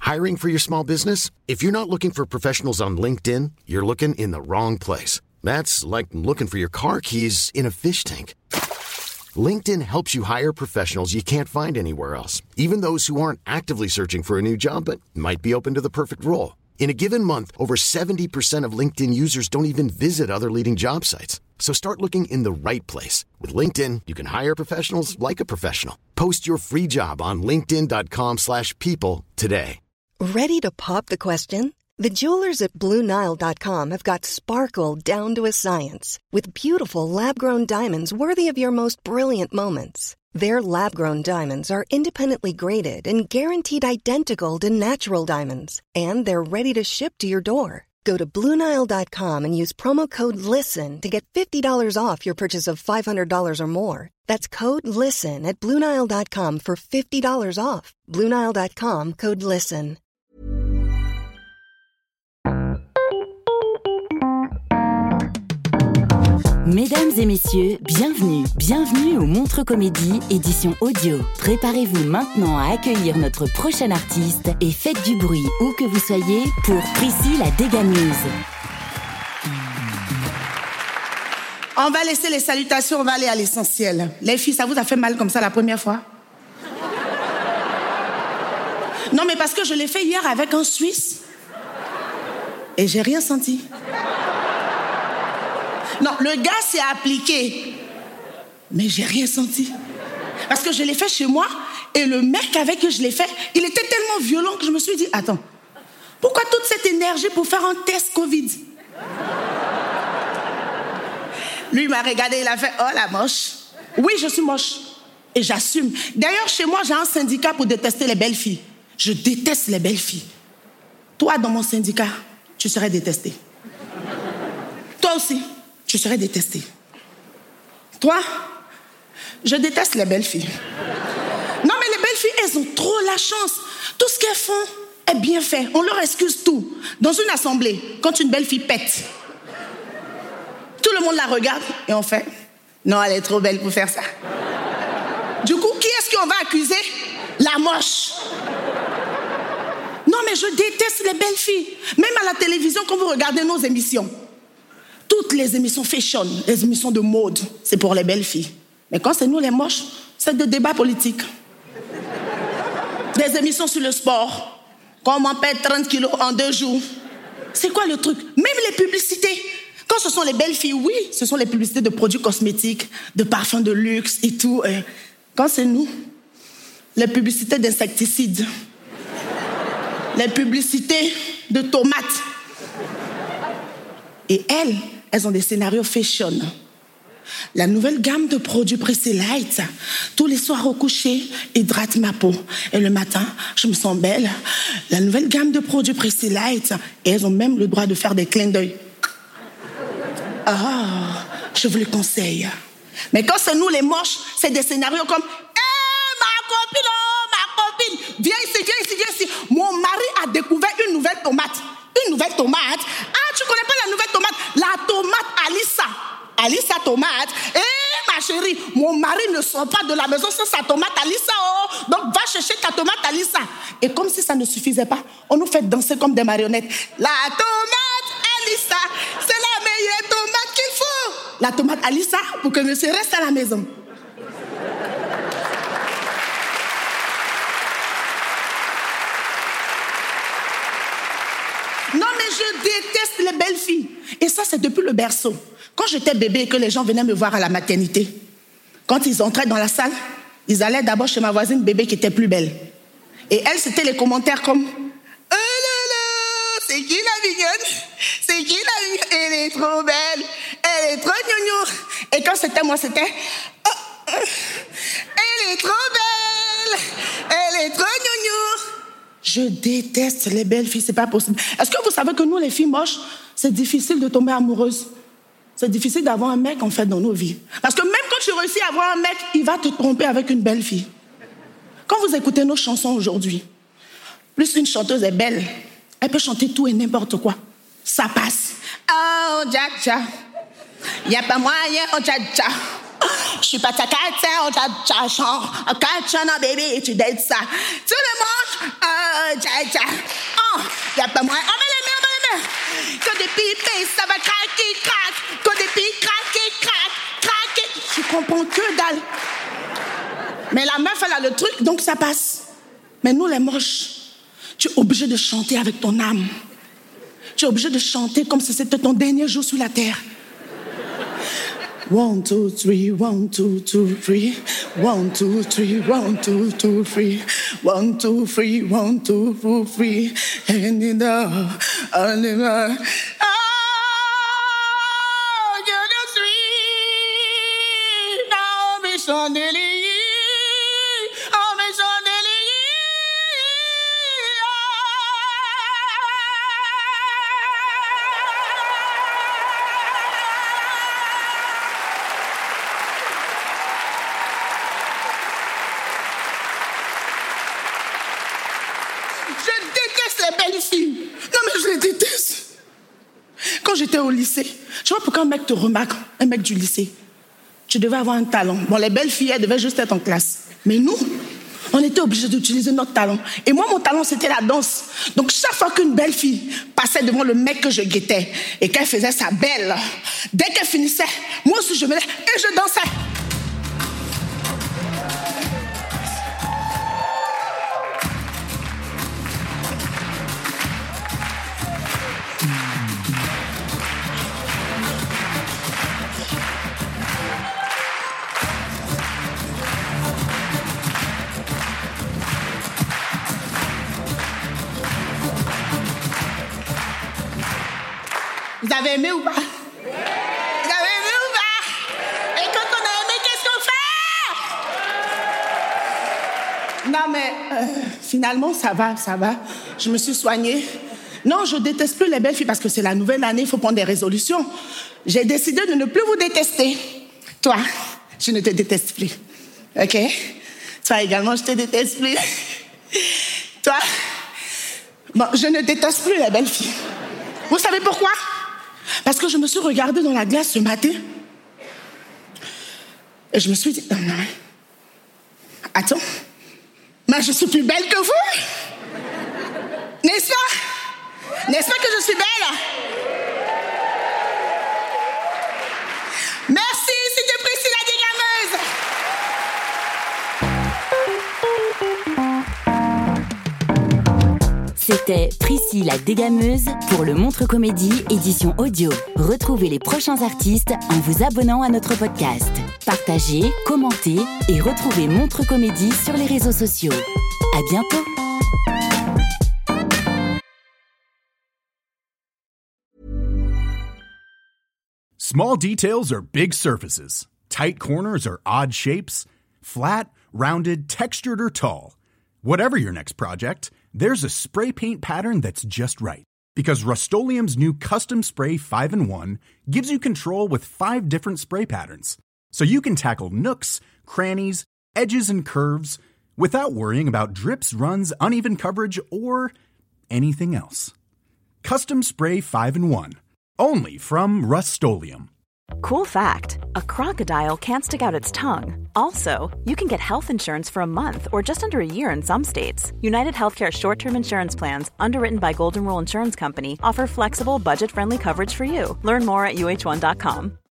Hiring for your small business? If you're not looking for professionals on LinkedIn, you're looking in the wrong place. That's like looking for your car keys in a fish tank. LinkedIn helps you hire professionals you can't find anywhere else, even those who aren't actively searching for a new job but might be open to the perfect role. In a given month, over 70% of LinkedIn users don't even visit other leading job sites. So start looking in the right place. With LinkedIn, you can hire professionals like a professional. Post your free job on linkedin.com/people today. Ready to pop the question? The jewelers at BlueNile.com have got sparkle down to a science with beautiful lab-grown diamonds worthy of your most brilliant moments. Their lab-grown diamonds are independently graded and guaranteed identical to natural diamonds, and they're ready to ship to your door. Go to BlueNile.com and use promo code LISTEN to get $50 off your purchase of $500 or more. That's code LISTEN at BlueNile.com for $50 off. BlueNile.com, code LISTEN. Mesdames et messieurs, bienvenue au Montre Comédie, édition audio. Préparez-vous maintenant à accueillir notre prochain artiste et faites du bruit où que vous soyez pour Prissy la déganeuse. On va laisser les salutations, on va aller à l'essentiel. Les filles, ça vous a fait mal comme ça la première fois? Non, mais parce que je l'ai fait hier avec un Suisse et j'ai rien senti. Non, le gars s'est appliqué, mais j'ai rien senti. Parce que je l'ai fait chez moi, et le mec avec qui je l'ai fait, il était tellement violent que je me suis dit, attends, pourquoi toute cette énergie pour faire un test Covid? Lui, il m'a regardé, il a fait, oh la moche. Oui, je suis moche, et j'assume. D'ailleurs, chez moi, j'ai un syndicat pour détester les belles filles. Je déteste les belles filles. Toi, dans mon syndicat, tu serais détesté. Toi aussi. Tu serais détesté. Toi, je déteste les belles filles. Non, mais les belles filles, elles ont trop la chance. Tout ce qu'elles font est bien fait. On leur excuse tout. Dans une assemblée, quand une belle fille pète, tout le monde la regarde et on fait « Non, elle est trop belle pour faire ça. » Du coup, qui est-ce qu'on va accuser? La moche. Non, mais je déteste les belles filles. Même à la télévision, quand vous regardez nos émissions, toutes les émissions fashion, les émissions de mode, c'est pour les belles filles. Mais quand c'est nous les moches, c'est des débats politiques. Des émissions sur le sport. Comment perdre 30 kilos en 2 jours. C'est quoi le truc? Même les publicités. Quand ce sont les belles filles, oui, ce sont les publicités de produits cosmétiques, de parfums de luxe et tout. Quand c'est nous, les publicités d'insecticides. Les publicités de tomates. Et elles ont des scénarios fashion. La nouvelle gamme de produits Prissy Light, tous les soirs au coucher, hydrate ma peau. Et le matin, je me sens belle. La nouvelle gamme de produits Prissy Light, et elles ont même le droit de faire des clins d'œil. Ah, je vous le conseille. Mais quand c'est nous les moches, c'est des scénarios comme ma copine, viens ici. Mon mari a découvert une nouvelle tomate. Une nouvelle tomate? Ah, tu connais pas la nouvelle tomate? La tomate Alissa. Alissa tomate. Ma chérie, mon mari ne sort pas de la maison sans sa tomate Alissa. Oh. Donc va chercher ta tomate Alissa. Et comme si ça ne suffisait pas, on nous fait danser comme des marionnettes. La tomate Alissa, c'est la meilleure tomate qu'il faut. La tomate Alissa pour que monsieur reste à la maison. Non, mais je déteste les belles filles. Et ça, c'est depuis le berceau. Quand j'étais bébé et que les gens venaient me voir à la maternité, quand ils entraient dans la salle, ils allaient d'abord chez ma voisine bébé qui était plus belle. Et elle, c'était les commentaires comme « Oh là là, c'est qui la mignonne? C'est qui la mignonne? Elle est trop belle. Elle est trop gnognon. » Et quand c'était moi, c'était oh, « Elle est trop belle. Elle est trop gnognon. » Je déteste les belles filles, c'est pas possible. Est-ce que vous savez que nous, les filles moches, c'est difficile de tomber amoureuse? C'est difficile d'avoir un mec, en fait, dans nos vies. Parce que même quand tu réussis à avoir un mec, il va te tromper avec une belle fille. Quand vous écoutez nos chansons aujourd'hui, plus une chanteuse est belle, elle peut chanter tout et n'importe quoi. Ça passe. Oh, dja-dja. Y'a pas moyen, oh, dja-dja. Je suis pas ta cata, oh, dja-dja. Cachana, baby, tu dates ça. Tout le monde, oh, y a pas moyen. On met les mains. Que des pipes, ça va craquer, craque. Que des pipes, craquer, craque. Tu comprends que dalle. Mais la meuf, elle a le truc, donc ça passe. Mais nous, les moches, tu es obligé de chanter avec ton âme. Tu es obligé de chanter comme si c'était ton dernier jour sur la terre. 1, 2, 3, 1, 2, 2, 3. 1, 2, 3, 1, 2, 2, 3. 1, 2, 3, 1, 2, 2, 3. And in the Je déteste les belles filles. Non, mais je les déteste. Quand j'étais au lycée, tu vois pourquoi un mec te remarque, un mec du lycée, tu devais avoir un talent. Bon, les belles filles, elles devaient juste être en classe. Mais nous, on était obligés d'utiliser notre talent. Et moi, mon talent, c'était la danse. Donc, chaque fois qu'une belle fille passait devant le mec que je guettais et qu'elle faisait sa belle, dès qu'elle finissait, moi aussi, je venais et je dansais. Vous avez aimé ou pas? Vous avez aimé ou pas? Et quand on a aimé, qu'est-ce qu'on fait? Non, mais finalement, ça va. Je me suis soignée. Non, je déteste plus les belles filles parce que c'est la nouvelle année, il faut prendre des résolutions. J'ai décidé de ne plus vous détester. Toi, je ne te déteste plus. OK? Toi également, je te déteste plus. Toi, bon, je ne déteste plus les belles filles. Vous savez pourquoi? Parce que je me suis regardée dans la glace ce matin et je me suis dit, non, attends, mais je suis plus belle que vous. N'est-ce pas? N'est-ce pas que je suis belle? Merci, c'était Priscilla Dégameuse. C'était Priscilla la Dégameuse pour le Montre Comédie édition audio. Retrouvez les prochains artistes en vous abonnant à notre podcast. Partagez, commentez et retrouvez Montre Comédie sur les réseaux sociaux. À bientôt. Small details are big surfaces. Tight corners are odd shapes. Flat, rounded, textured, or tall. Whatever your next project, there's a spray paint pattern that's just right. Because Rust-Oleum's new Custom Spray 5-in-1 gives you control with 5 different spray patterns. So you can tackle nooks, crannies, edges, and curves without worrying about drips, runs, uneven coverage, or anything else. Custom Spray 5-in-1. Only from Rust-Oleum. Cool fact, a crocodile can't stick out its tongue. Also, you can get health insurance for a month or just under a year in some states. United Healthcare short-term insurance plans, underwritten by Golden Rule Insurance Company, offer flexible, budget-friendly coverage for you. Learn more at uh1.com.